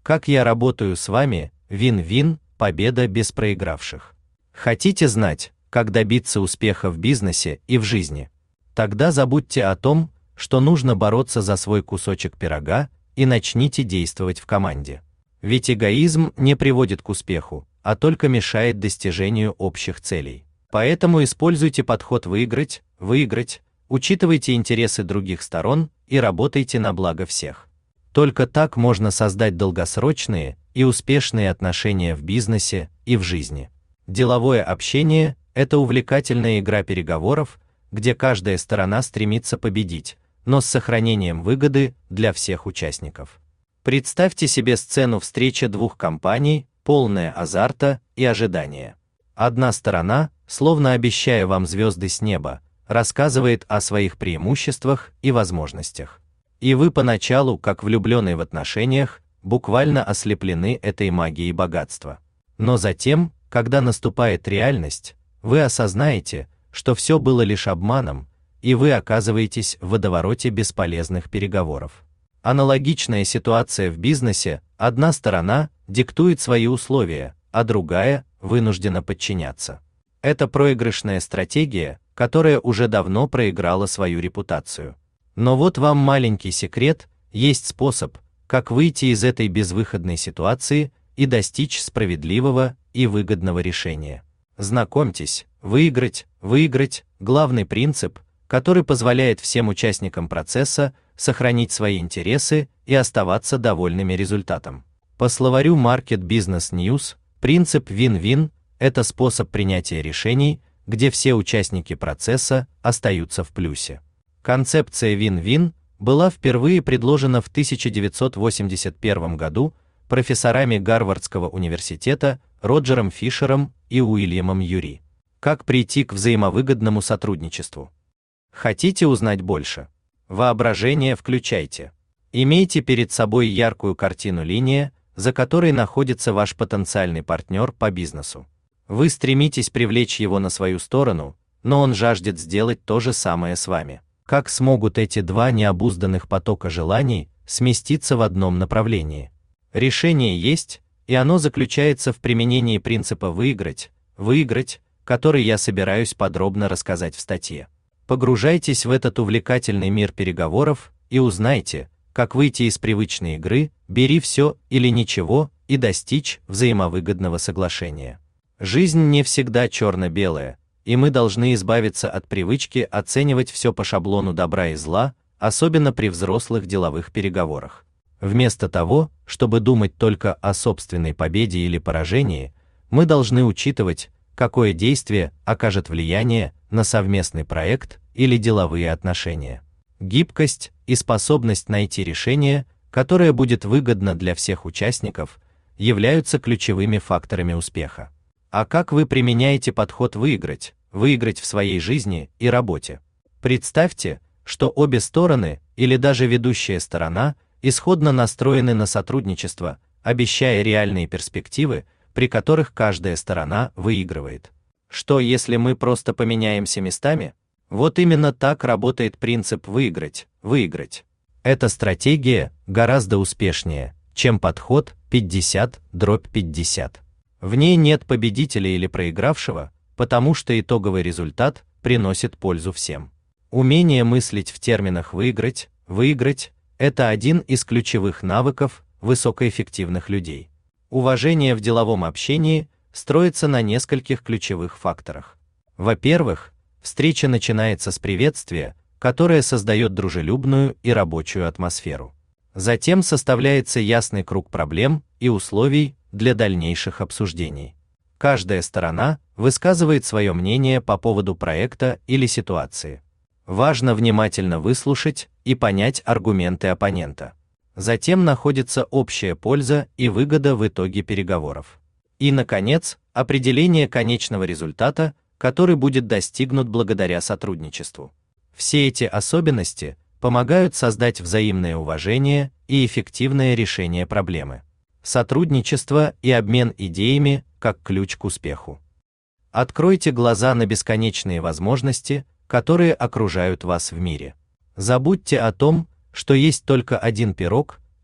Как я работаю с вами, вин-вин, победа без проигравших. Хотите знать, как добиться успеха в бизнесе и в жизни? Тогда забудьте о том, что нужно бороться за свой кусочек пирога, и начните действовать в команде. Ведь эгоизм не приводит к успеху, а только мешает достижению общих целей. Поэтому используйте подход выиграть, учитывайте интересы других сторон и работайте на благо всех. Только так можно создать долгосрочные и успешные отношения в бизнесе и в жизни. Деловое общение – это увлекательная игра переговоров, где каждая сторона стремится победить, но с сохранением выгоды для всех участников. Представьте себе сцену встречи двух компаний, полная азарта и ожидания. Одна сторона, словно обещая вам звезды с неба, рассказывает о своих преимуществах и возможностях. И вы поначалу, как влюбленные в отношениях, буквально ослеплены этой магией богатства. Но затем, когда наступает реальность, вы осознаете, что все было лишь обманом, и вы оказываетесь в водовороте бесполезных переговоров. Аналогичная ситуация в бизнесе: одна сторона диктует свои условия, а другая вынуждена подчиняться. Это проигрышная стратегия, которая уже давно проиграла свою репутацию. Но вот вам маленький секрет: есть способ, как выйти из этой безвыходной ситуации и достичь справедливого и выгодного решения. Знакомьтесь, выиграть – главный принцип, который позволяет всем участникам процесса сохранить свои интересы и оставаться довольными результатом. По словарю Market Business News, принцип win-win – это способ принятия решений, где все участники процесса остаются в плюсе. Концепция win-win была впервые предложена в 1981 году профессорами Гарвардского университета Роджером Фишером и Уильямом Юри. Как прийти к взаимовыгодному сотрудничеству? Хотите узнать больше? Воображение включайте. Имейте перед собой яркую картину линия, за которой находится ваш потенциальный партнер по бизнесу. Вы стремитесь привлечь его на свою сторону, но он жаждет сделать то же самое с вами. Как смогут эти два необузданных потока желаний сместиться в одном направлении? Решение есть, и оно заключается в применении принципа выиграть, который я собираюсь подробно рассказать в статье. Погружайтесь в этот увлекательный мир переговоров и узнайте, как выйти из привычной игры «бери все или ничего» и достичь взаимовыгодного соглашения. Жизнь не всегда черно-белая, и мы должны избавиться от привычки оценивать все по шаблону добра и зла, особенно при взрослых деловых переговорах. Вместо того, чтобы думать только о собственной победе или поражении, мы должны учитывать, какое действие окажет влияние на совместный проект или деловые отношения. Гибкость и способность найти решение, которое будет выгодно для всех участников, являются ключевыми факторами успеха. А как вы применяете подход выиграть в своей жизни и работе? Представьте, что обе стороны или даже ведущая сторона исходно настроены на сотрудничество, обещая реальные перспективы, при которых каждая сторона выигрывает. Что если мы просто поменяемся местами? Вот именно так работает принцип выиграть. Эта стратегия гораздо успешнее, чем подход 50/50. В ней нет победителя или проигравшего, потому что итоговый результат приносит пользу всем. Умение мыслить в терминах выиграть – это один из ключевых навыков высокоэффективных людей. Уважение в деловом общении строится на нескольких ключевых факторах. Во-первых, встреча начинается с приветствия, которое создает дружелюбную и рабочую атмосферу. Затем составляется ясный круг проблем и условий для дальнейших обсуждений. Каждая сторона высказывает свое мнение по поводу проекта или ситуации. Важно внимательно выслушать и понять аргументы оппонента. Затем находится общая польза и выгода в итоге переговоров. И, наконец, определение конечного результата, который будет достигнут благодаря сотрудничеству. Все эти особенности помогают создать взаимное уважение и эффективное решение проблемы. Сотрудничество и обмен идеями как ключ к успеху. Откройте глаза на бесконечные возможности, которые окружают вас в мире. Забудьте о том, что есть только один пирог,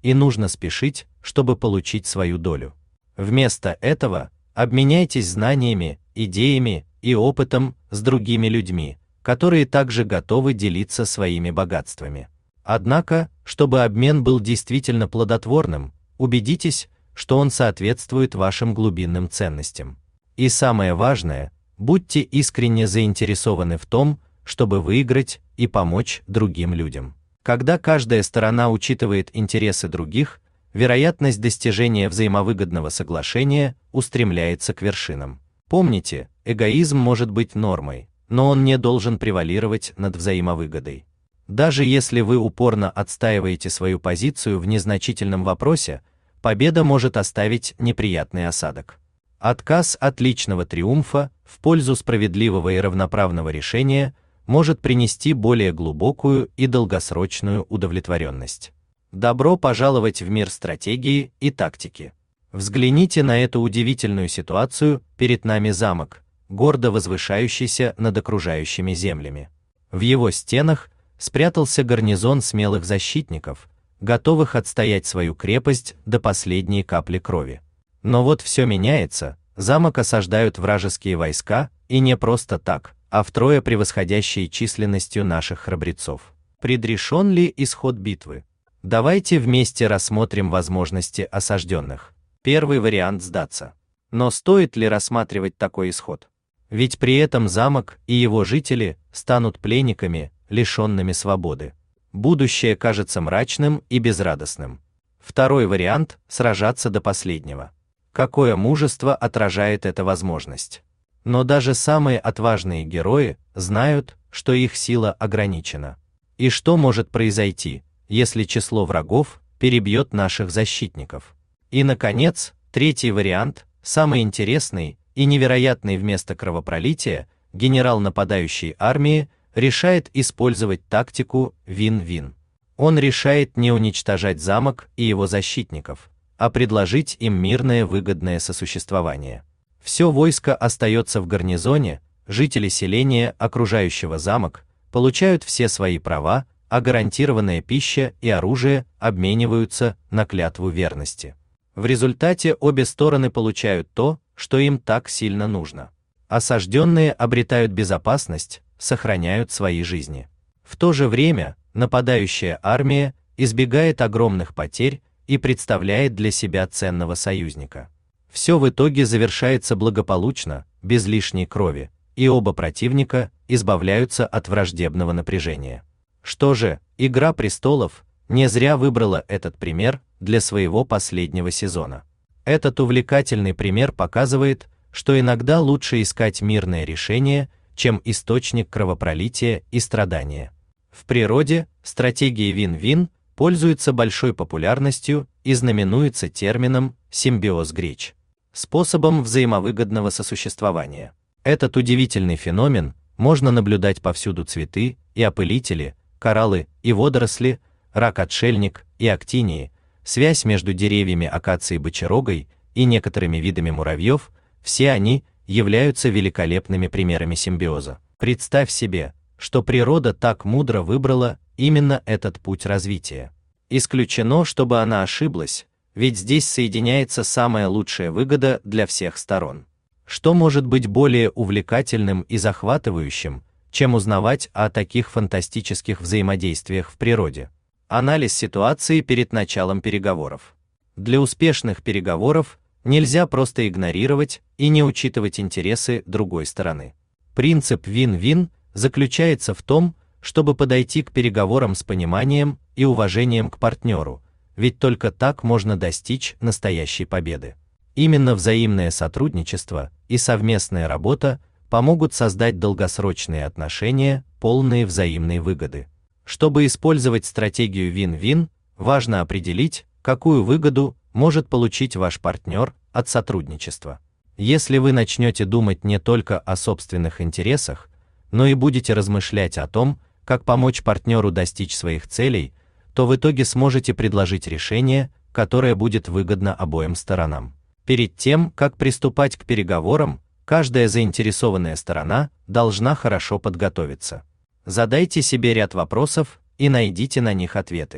и нужно спешить, чтобы получить свою долю. Вместо этого обменяйтесь знаниями, идеями и опытом с другими людьми, которые также готовы делиться своими богатствами. Однако, чтобы обмен был действительно плодотворным, убедитесь, что он соответствует вашим глубинным ценностям. И самое важное, будьте искренне заинтересованы в том, чтобы выиграть и помочь другим людям. Когда каждая сторона учитывает интересы других, вероятность достижения взаимовыгодного соглашения устремляется к вершинам. Помните, эгоизм может быть нормой, но он не должен превалировать над взаимовыгодой. Даже если вы упорно отстаиваете свою позицию в незначительном вопросе, победа может оставить неприятный осадок. Отказ от личного триумфа в пользу справедливого и равноправного решения может принести более глубокую и долгосрочную удовлетворенность. Добро пожаловать в мир стратегии и тактики. Взгляните на эту удивительную ситуацию. Перед нами замок, гордо возвышающийся над окружающими землями. В его стенах спрятался гарнизон смелых защитников, готовых отстоять свою крепость до последней капли крови. Но вот все меняется, замок осаждают вражеские войска, и не просто так, а втрое превосходящие численностью наших храбрецов. Предрешен ли исход битвы? Давайте вместе рассмотрим возможности осажденных. Первый вариант – сдаться. Но стоит ли рассматривать такой исход? Ведь при этом замок и его жители станут пленниками, лишенными свободы. Будущее кажется мрачным и безрадостным. Второй вариант – сражаться до последнего. Какое мужество отражает эта возможность. Но даже самые отважные герои знают, что их сила ограничена. И что может произойти, если число врагов перебьет наших защитников? И, наконец, третий вариант, самый интересный и невероятный. Вместо кровопролития генерал нападающей армии решает использовать тактику вин-вин. Он решает не уничтожать замок и его защитников, а предложить им мирное выгодное сосуществование. Все войско остается в гарнизоне, жители селения, окружающего замок, получают все свои права, а гарантированная пища и оружие обмениваются на клятву верности. В результате обе стороны получают то, что им так сильно нужно. Осажденные обретают безопасность, сохраняют свои жизни. В то же время нападающая армия избегает огромных потерь и представляет для себя ценного союзника. Все в итоге завершается благополучно, без лишней крови, и оба противника избавляются от враждебного напряжения. Что же, «Игра престолов» не зря выбрала этот пример для своего последнего сезона. Этот увлекательный пример показывает, что иногда лучше искать мирное решение, чем источник кровопролития и страдания. В природе стратегия вин-вин пользуется большой популярностью и знаменуется термином «симбиоз греч» – способом взаимовыгодного сосуществования. Этот удивительный феномен можно наблюдать повсюду: цветы и опылители, кораллы и водоросли, рак-отшельник и актинии, связь между деревьями акации бочерогой и некоторыми видами муравьев – все они являются великолепными примерами симбиоза. Представь себе, что природа так мудро выбрала именно этот путь развития. Исключено, чтобы она ошиблась, ведь здесь соединяется самая лучшая выгода для всех сторон. Что может быть более увлекательным и захватывающим, чем узнавать о таких фантастических взаимодействиях в природе? Анализ ситуации перед началом переговоров. Для успешных переговоров нельзя просто игнорировать и не учитывать интересы другой стороны. Принцип вин-вин заключается в том, чтобы подойти к переговорам с пониманием и уважением к партнеру, ведь только так можно достичь настоящей победы. Именно взаимное сотрудничество и совместная работа помогут создать долгосрочные отношения, полные взаимной выгоды. Чтобы использовать стратегию вин-вин, важно определить, какую выгоду может получить ваш партнер от сотрудничества. Если вы начнете думать не только о собственных интересах, но и будете размышлять о том, как помочь партнеру достичь своих целей, то в итоге сможете предложить решение, которое будет выгодно обоим сторонам. Перед тем, как приступать к переговорам, каждая заинтересованная сторона должна хорошо подготовиться. Задайте себе ряд вопросов и найдите на них ответы.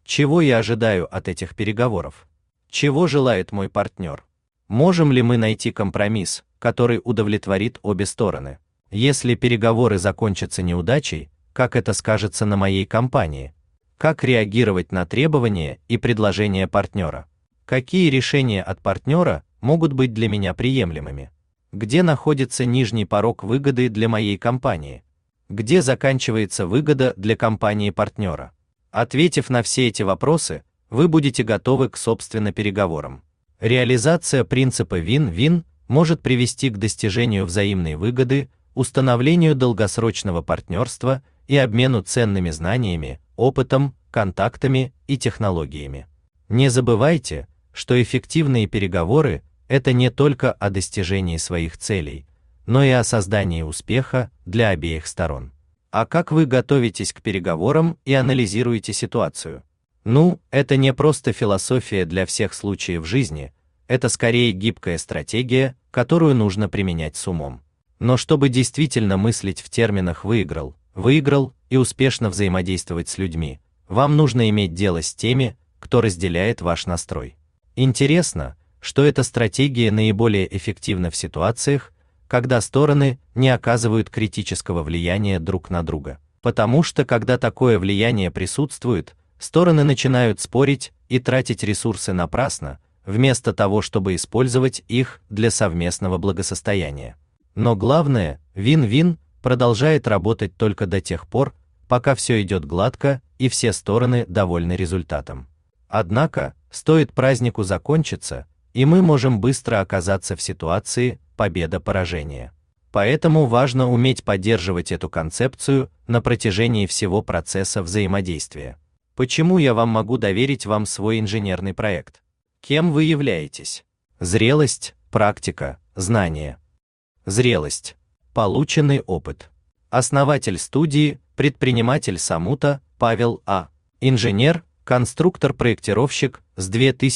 Чего я ожидаю от этих переговоров? Чего желает мой партнер? Можем ли мы найти компромисс, который удовлетворит обе стороны? Если переговоры закончатся неудачей, как это скажется на моей компании? Как реагировать на требования и предложения партнера? Какие решения от партнера могут быть для меня приемлемыми? Где находится нижний порог выгоды для моей компании? Где заканчивается выгода для компании партнера? Ответив на все эти вопросы, вы будете готовы к собственным переговорам. Реализация принципа win-win может привести к достижению взаимной выгоды, установлению долгосрочного партнерства и обмену ценными знаниями, опытом, контактами и технологиями. Не забывайте, что эффективные переговоры – это не только о достижении своих целей, но и о создании успеха для обеих сторон. А как вы готовитесь к переговорам и анализируете ситуацию? Это не просто философия для всех случаев жизни, это скорее гибкая стратегия, которую нужно применять с умом. Но чтобы действительно мыслить в терминах выиграл и успешно взаимодействовать с людьми, вам нужно иметь дело с теми, кто разделяет ваш настрой. Интересно, что эта стратегия наиболее эффективна в ситуациях, когда стороны не оказывают критического влияния друг на друга. Потому что когда такое влияние присутствует, стороны начинают спорить и тратить ресурсы напрасно, вместо того, чтобы использовать их для совместного благосостояния. Но главное, win-win продолжает работать только до тех пор, пока все идет гладко и все стороны довольны результатом. Однако, стоит празднику закончиться, и мы можем быстро оказаться в ситуации победа-поражение. Поэтому важно уметь поддерживать эту концепцию на протяжении всего процесса взаимодействия. Почему я могу доверить вам свой инженерный проект? Кем вы являетесь? Зрелость, практика, знания. Зрелость. Полученный опыт. Основатель студии, предприниматель Самута, Павел А. Инженер, конструктор-проектировщик с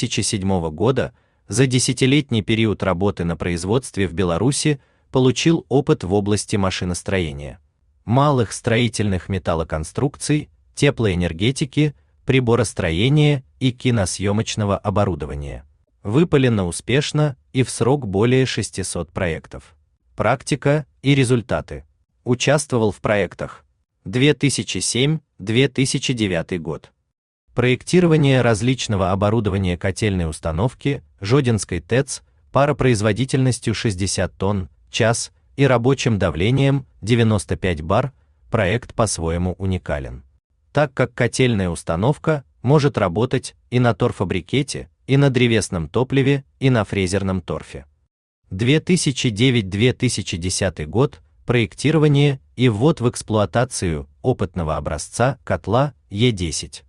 2007 года, за десятилетний период работы на производстве в Беларуси получил опыт в области машиностроения, малых строительных металлоконструкций, теплоэнергетики, приборостроения и киносъемочного оборудования. Выполнено успешно и в срок более 600 проектов. Практика и результаты. Участвовал в проектах 2007-2009 год. Проектирование различного оборудования котельной установки Жодинской ТЭЦ паропроизводительностью 60 тонн в час и рабочим давлением 95 бар, проект по-своему уникален, так как котельная установка может работать и на торфобрикете, и на древесном топливе, и на фрезерном торфе. 2009-2010 год. Проектирование и ввод в эксплуатацию опытного образца котла Е10.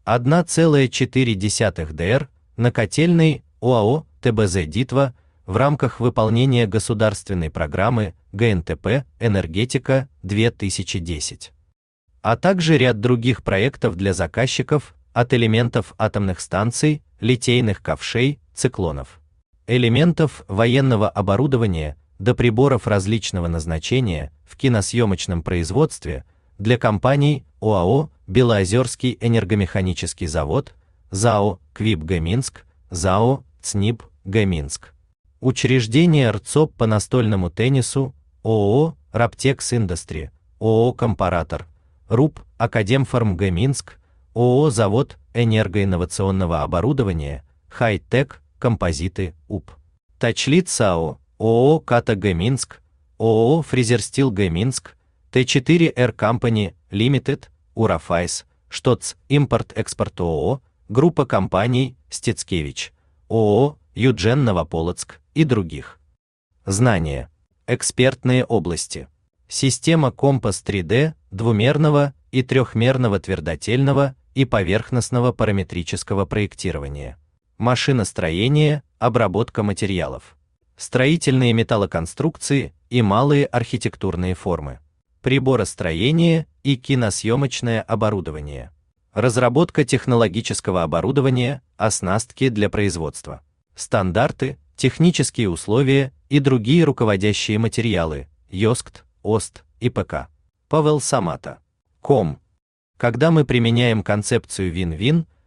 1,4 Др на котельной ОАО ТБЗ «Дитва» в рамках выполнения государственной программы ГНТП «Энергетика-2010». А также ряд других проектов для заказчиков от элементов атомных станций, литейных ковшей, циклонов, элементов военного оборудования до приборов различного назначения в киносъемочном производстве для компаний ОАО «Белоозерский энергомеханический завод», ЗАО «Квиб Г Минск», ЗАО «ЦНИБ Г Минск». Учреждение РЦОП по настольному теннису, ООО «Раптекс Индастри», ООО «Компаратор», РУП «Академформ Г Минск», ООО «Завод энергоинновационного оборудования», «Хай-Тек», «Композиты», УП. Тачлит САО, ООО «Ката Г Минск», ООО «Фрезерстил Г Минск», Т4Р Company Limited, Урафайс, ШТОЦ, Импорт-Экспорт ООО, группа компаний Стецкевич, ООО Юджен Новополоцк и других. Знания. Экспертные области. Система Компас 3D, двумерного и трехмерного твердотельного и поверхностного параметрического проектирования. Машиностроение, обработка материалов. Строительные металлоконструкции и малые архитектурные формы. Приборостроение и киносъемочное оборудование. Разработка технологического оборудования, оснастки для производства. Стандарты, технические условия и другие руководящие материалы, ЙОСКТ, ОСТ, ИПК. Павел Самата. Когда мы применяем концепцию win-win,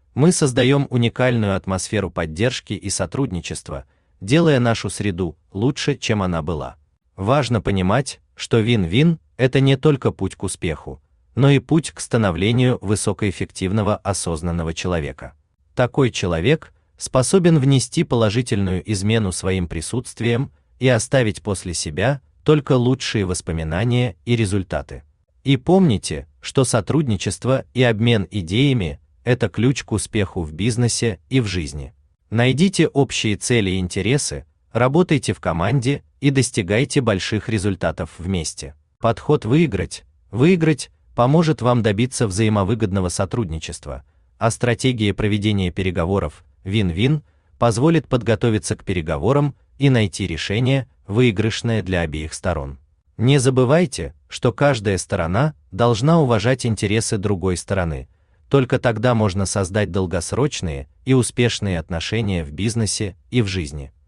Мы создаем уникальную атмосферу поддержки и сотрудничества, делая нашу среду лучше, чем она была. Важно понимать, что вин-вин – это не только путь к успеху, но и путь к становлению высокоэффективного осознанного человека. Такой человек способен внести положительную измену своим присутствием и оставить после себя только лучшие воспоминания и результаты. И помните, что сотрудничество и обмен идеями – это ключ к успеху в бизнесе и в жизни. Найдите общие цели и интересы, работайте в команде и достигайте больших результатов вместе. Подход «выиграть» поможет вам добиться взаимовыгодного сотрудничества, а стратегия проведения переговоров «вин-вин» позволит подготовиться к переговорам и найти решение, выигрышное для обеих сторон. Не забывайте, что каждая сторона должна уважать интересы другой стороны. Только тогда можно создать долгосрочные и успешные отношения в бизнесе и в жизни.